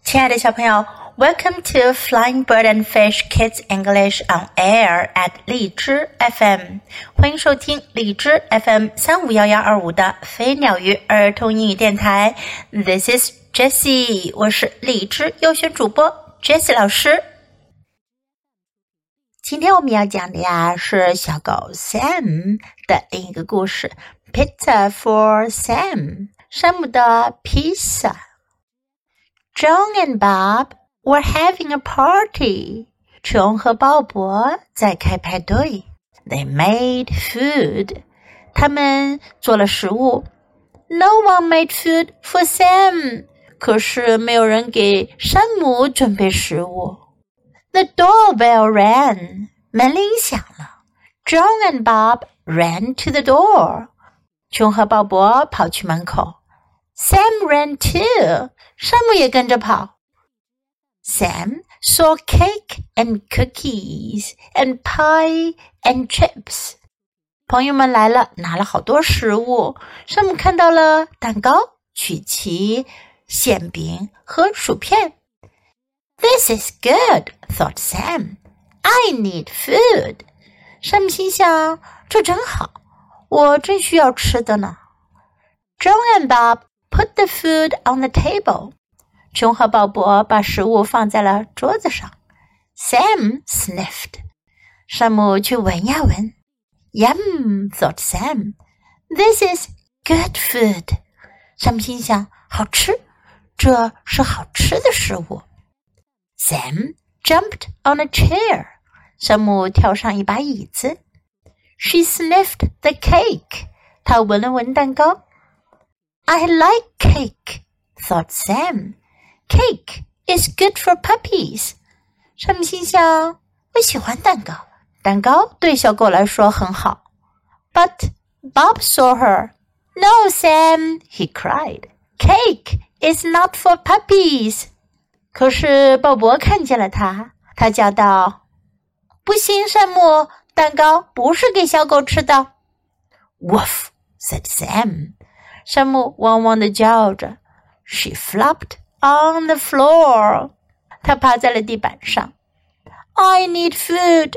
亲爱的小朋友 Welcome to Flying Bird and Fish Kids English on Air at 荔枝 FM 欢迎收听荔枝 FM 35112的飞鸟鱼儿童英语电台 This is Jessie 我是荔枝优选主播 Jessie 老师。今天我们要讲的呀是小狗 Sam 的另一个故事 Pizza for Sam 山姆的披萨。John and Bob were having a party. 琼和鲍勃在开派对。They made food. 他们做了食物。No one made food for Sam. 可是没有人给山姆准备食物。The doorbell rang. 门铃响了。John and Bob ran to the door. 琼和鲍勃跑去门口。Sam ran too. 山姆也跟着跑。Sam saw cake and cookies and pie and chips. 朋友们来了，拿了好多食物。山姆看到了蛋糕、曲奇、馅饼和薯片。This is good, thought Sam. I need food. 山姆心想，这真好，我真需要吃的呢。John and Bob put the food on the table. 琼和鲍勃把食物放在了桌子上。Sam sniffed. 山姆去闻呀闻。Yum, thought Sam. This is good food. 山姆心想，好吃，这是好吃的食物。Sam jumped on a chair. 山姆跳上一把椅子。She sniffed the cake. 她闻了闻蛋糕。I like cake, thought Sam. Cake is good for puppies. 山姆心想，我喜欢蛋糕，蛋糕对小狗来说很好。But Bob saw her. No, Sam, he cried. Cake is not for puppies. 可是鲍勃看见了他，他叫道，不行，山姆，蛋糕不是给小狗吃的。Woof, said Sam. 山姆汪汪地叫着。She flopped on the floor. 她趴在了地板上。I need food.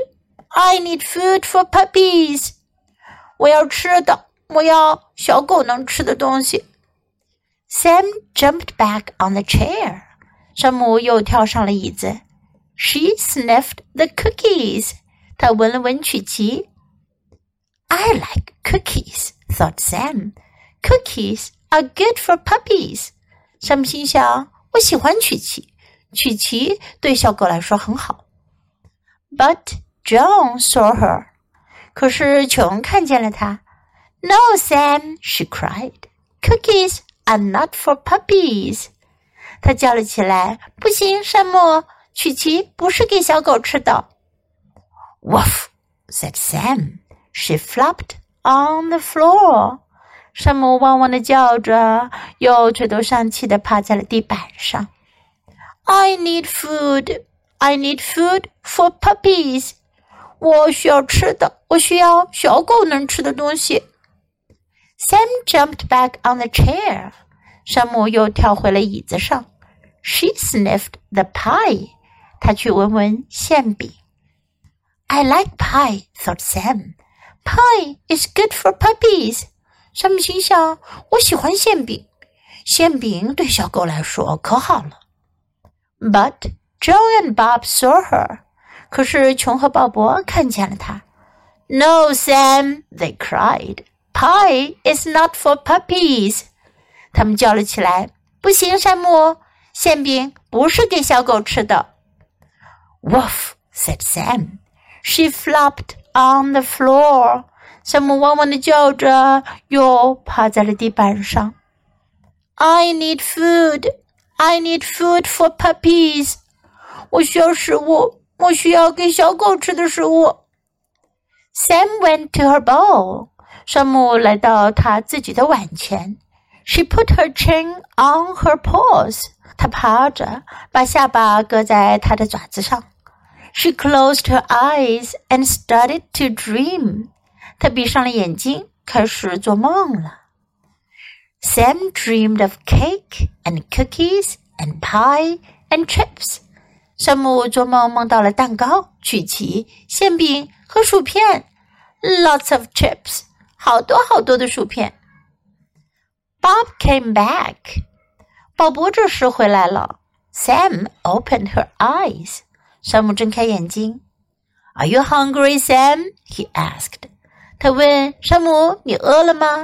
I need food for puppies. 我要吃的，我要小狗能吃的东西。Sam jumped back on the chair. 山姆又跳上了椅子。She sniffed the cookies. 她闻了闻曲奇。I like cookies, thought Sam. Cookies are good for puppies. 山姆心想，我喜欢曲奇，曲奇对小狗来说很好。But John saw her. 可是琼看见了她。No, Sam, she cried. Cookies are not for puppies. 她叫了起来，不行，山姆，曲奇不是给小狗吃的。Woof, said Sam. She flopped on the floor. 山姆汪汪地叫着，又垂头丧气地趴在了地板上。I need food. I need food for puppies. 我需要吃的，我需要小狗能吃的东西。Sam jumped back on the chair. 山姆又跳回了椅子上。She sniffed the pie. 她去闻闻馅饼。I like pie, thought Sam. Pie is good for puppies. 山姆心想，我喜欢馅饼，馅饼对小狗来说可好了。But John and Bob saw her. 可是琼和鲍勃看见了她。No, Sam, they cried. Pie is not for puppies. 他们叫了起来，不行，山姆，馅饼不是给小狗吃的。Woof, said Sam. She flopped on the floor. 山姆汪汪地叫着，又趴在了地板上。I need food. I need food for puppies. 我需要食物，我需要给小狗吃的食物。Sam went to her bowl. 山姆来到他自己的碗前。She put her chin on her paws. 她趴着，把下巴搁在她的爪子上。She closed her eyes and started to dream. 她闭上了眼睛，开始做梦了。Sam dreamed of cake and cookies and pie and chips。山姆做梦梦到了蛋糕、曲奇、馅饼和薯片。Lots of chips， 好多好多的薯片。Bob came back， 鲍勃这时回来了。Sam opened her eyes， 山姆睁开眼睛。Are you hungry, Sam? He asked. 他问山姆，你饿了吗？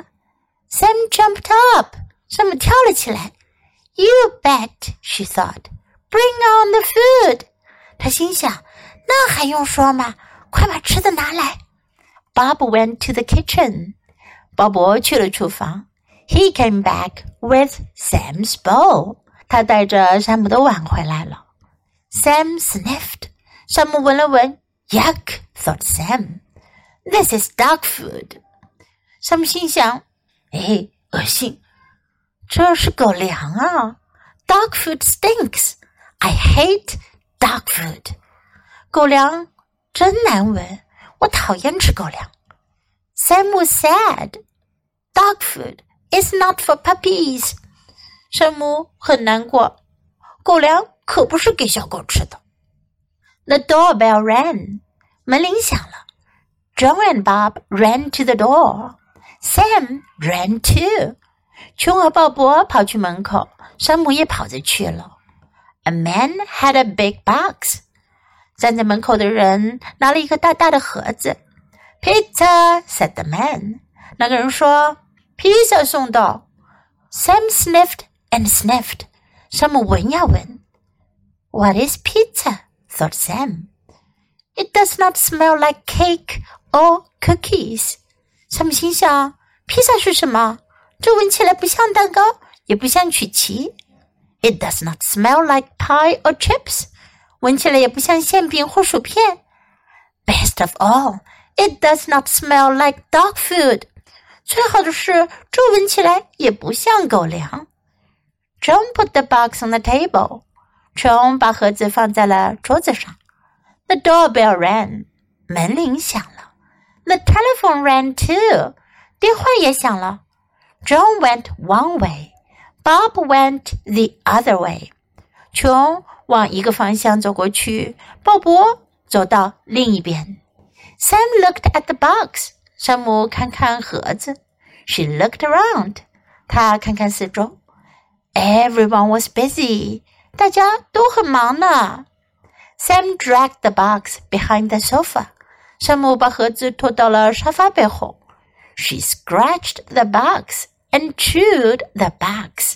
Sam jumped up， 山姆跳了起来。You bet, she thought. Bring on the food. 他心想，那还用说吗？快把吃的拿来。Bob went to the kitchen. 鲍勃去了厨房。He came back with Sam's bowl. 他带着山姆的碗回来了。Sam sniffed. 山姆闻了闻。Yuck, thought Sam. This is dog food. 山姆心想，恶心，这是狗粮啊。Dog food stinks. I hate dog food. 狗粮真难闻，我讨厌吃狗粮。Sam was sad. Dog food is not for puppies. 山姆很难过，狗粮可不是给小狗吃的。The doorbell rang. 门铃响了。John and Bob ran to the door. Sam ran too. 琼和鲍勃跑去门口，山姆也跑着去了。A man had a big box. 站在门口的人拿了一个大大的盒子。Pizza, said the man. 那个人说，披萨送到。Sam sniffed and sniffed. 山姆闻呀闻。What is pizza? thought Sam. It does not smell like cake or cookies. 山姆心想，披萨是什么？这闻起来不像蛋糕，也不像曲奇。It does not smell like pie or chips. 闻起来也不像馅饼或薯片。Best of all, it does not smell like dog food. 最好的是，这闻起来也不像狗粮。John put the box on the table. John 把盒子放在了桌子上。The doorbell rang. 门铃响了。The telephone rang too. 电话也响了。John went one way. Bob went the other way. 琼往一个方向走过去，鲍勃走到另一边。Sam looked at the box. 山姆看看盒子。She looked around. 她看看四周。Everyone was busy. 大家都很忙呢。Sam dragged the box behind the sofa. 山姆把盒子拖到了沙发背后。She scratched the box and chewed the box.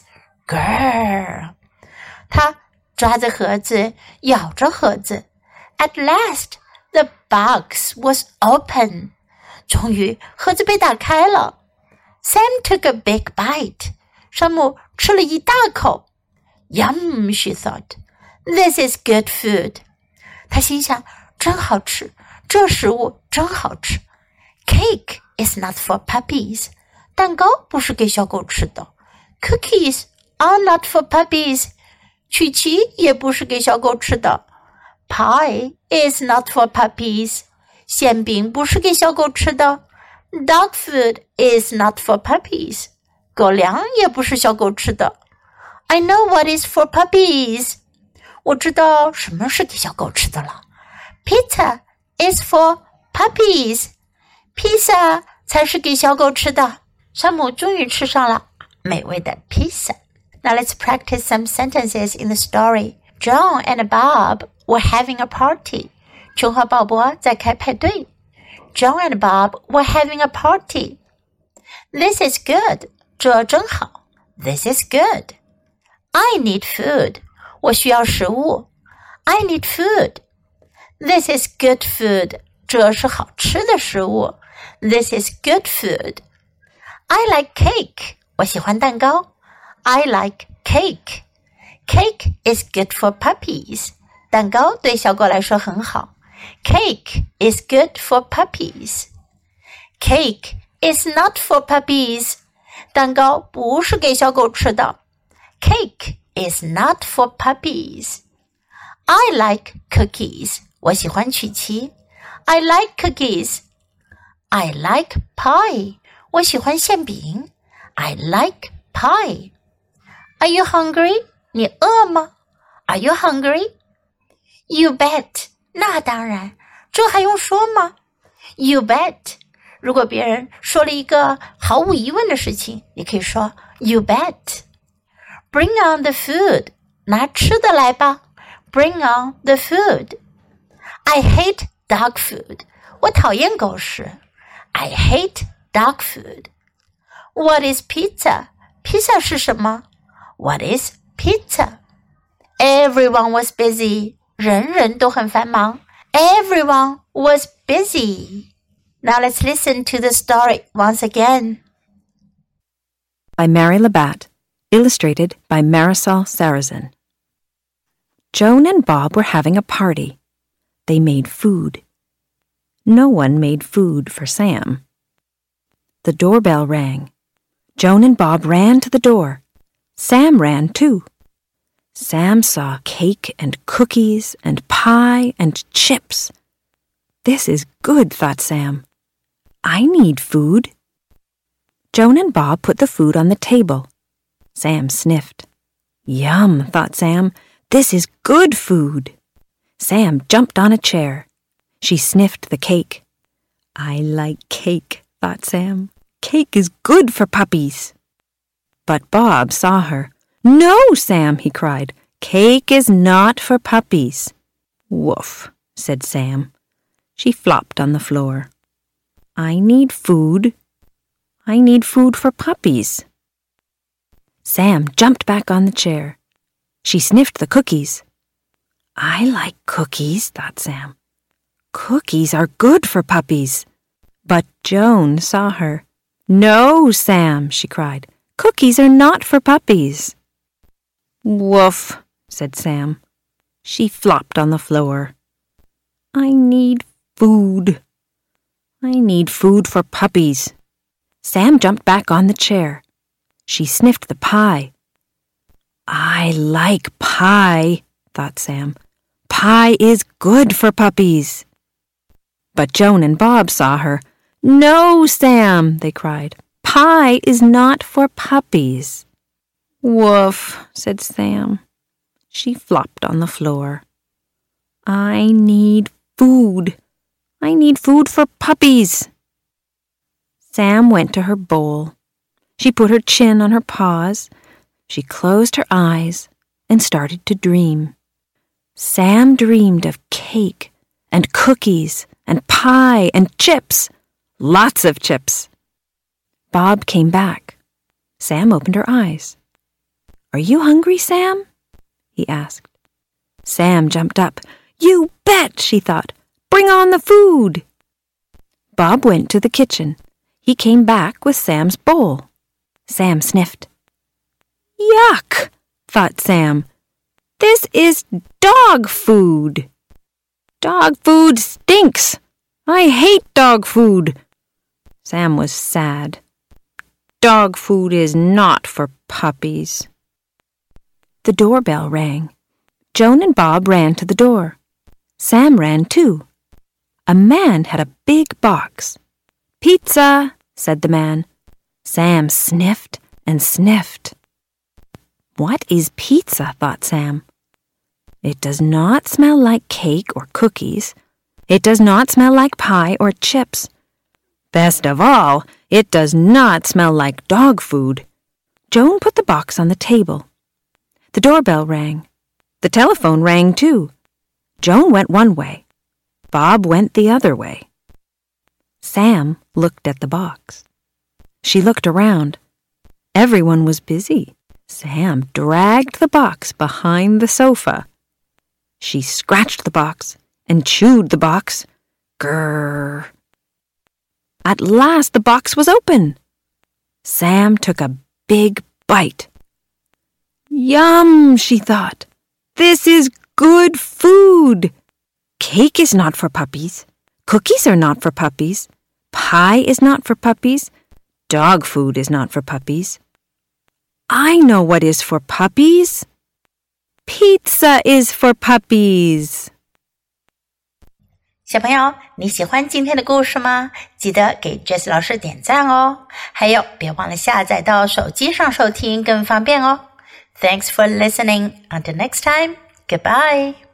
Grrr. 她抓着盒子，咬着盒子。At last, the box was open. 终于，盒子被打开了。Sam took a big bite. 山姆吃了一大口。Yum, she thought. This is good food. 她心想，真好吃，这食物真好吃。Cake is not for puppies. 蛋糕不是给小狗吃的。Cookies are not for puppies. 曲奇也不是给小狗吃的。Pie is not for puppies. 馅饼不是给小狗吃的。Dog food is not for puppies. 狗粮也不是小狗吃的。I know what is for puppies. 我知道什么是给小狗吃的了。Pizza is for puppies. 披萨才是给小狗吃的。山姆终于吃上了美味的披萨。Now let's practice some sentences in the story. John and Bob were having a party. 琼和鲍勃在开派对。John and Bob were having a party. This is good. 这真好。This is good. I need food. 我需要食物。I need food. This is good food. 这是好吃的食物。This is good food. I like cake. 我喜欢蛋糕。I like cake. Cake is good for puppies. 蛋糕对小狗来说很好。Cake is good for puppies. Cake is not for puppies. 蛋糕不是给小狗吃的。Cake is not for puppies. I like cookies. 我喜欢曲奇。I like cookies. I like pie. 我喜欢馅饼。I like pie. Are you hungry? 你饿吗 Are you hungry? You bet. 那当然，这还用说吗？ You bet. 如果别人说了一个毫无疑问的事情，你可以说 You bet. Bring on the food. 拿吃的来吧。Bring on the food. I hate dog food. 我讨厌狗食。I hate dog food. What is pizza? 披萨是什么？ What is pizza? Everyone was busy. 人人都很繁忙。Everyone was busy. Now let's listen to the story once again. By Mary Labatt, illustrated by Marisol Sarrazin. Joan and Bob were having a party. They made food. No one made food for Sam. The doorbell rang. Joan and Bob ran to the door. Sam ran too. Sam saw cake and cookies and pie and chips. This is good, thought Sam. I need food. Joan and Bob put the food on the table. Sam sniffed. Yum, thought Sam. This is good food. Sam jumped on a chair. She sniffed the cake. I like cake, thought Sam. Cake is good for puppies. But Bob saw her. No, Sam, he cried. Cake is not for puppies. Woof, said Sam. She flopped on the floor. I need food. I need food for puppies. Sam jumped back on the chair. She sniffed the cookies. I like cookies, thought Sam. Cookies are good for puppies. But Joan saw her. No, Sam, she cried. Cookies are not for puppies. Woof, said Sam. She flopped on the floor. I need food. I need food for puppies. Sam jumped back on the chair. She sniffed the pie. I like pie, thought Sam. Pie is good for puppies. But Joan and Bob saw her. No, Sam, they cried. Pie is not for puppies. Woof, said Sam. She flopped on the floor. I need food. I need food for puppies. Sam went to her bowl. She put her chin on her paws. She closed her eyes and started to dream. Sam dreamed of cake and cookies and pie and chips. Lots of chips. Bob came back. Sam opened her eyes. Are you hungry, Sam? He asked. Sam jumped up. You bet, she thought. Bring on the food. Bob went to the kitchen. He came back with Sam's bowl. Sam sniffed. Yuck, thought Sam. This is dog food. Dog food stinks. I hate dog food. Sam was sad. Dog food is not for puppies. The doorbell rang. Joan and Bob ran to the door. Sam ran too. A man had a big box. Pizza, said the man. Sam sniffed and sniffed. What is pizza, thought Sam. It does not smell like cake or cookies. It does not smell like pie or chips. Best of all, it does not smell like dog food. Joan put the box on the table. The doorbell rang. The telephone rang too. Joan went one way. Bob went the other way. Sam looked at the box. She looked around. Everyone was busy. Sam dragged the box behind the sofa. She scratched the box and chewed the box. Grrr. At last the box was open. Sam took a big bite. Yum, she thought. This is good food. Cake is not for puppies. Cookies are not for puppies. Pie is not for puppies. Dog food is not for puppies. I know what is for puppies. Pizza is for puppies. 小朋友，你喜欢今天的故事吗？记得给 Jessie 老师点赞哦。还有，别忘了下载到手机上收听，更方便哦。Thanks for listening. Until next time. Goodbye.